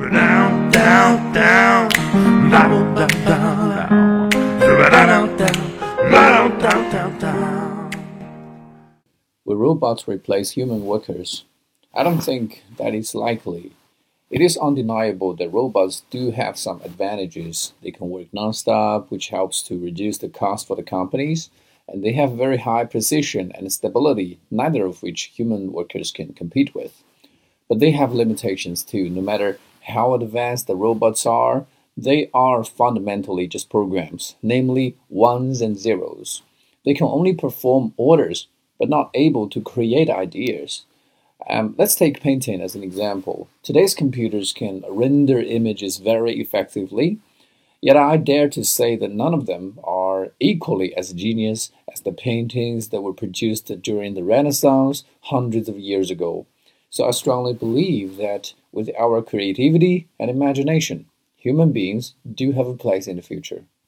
Down, down, down, down, down, down, down, down, down, down. Will robots replace human workers? I don't think that is likely. It is undeniable that robots do have some advantages. They can work non-stop, which helps to reduce the cost for the companies, and they have very high precision and stability, neither of which human workers can compete with. But they have limitations too. No matter how advanced the robots are, they are fundamentally just programs, namely ones and zeros. They can only perform orders, but not able to create ideas. Let's take painting as an example. Today's computers can render images very effectively, yet I dare to say that none of them are equally as genius as the paintings that were produced during the Renaissance hundreds of years ago. So I strongly believe that with our creativity and imagination, human beings do have a place in the future.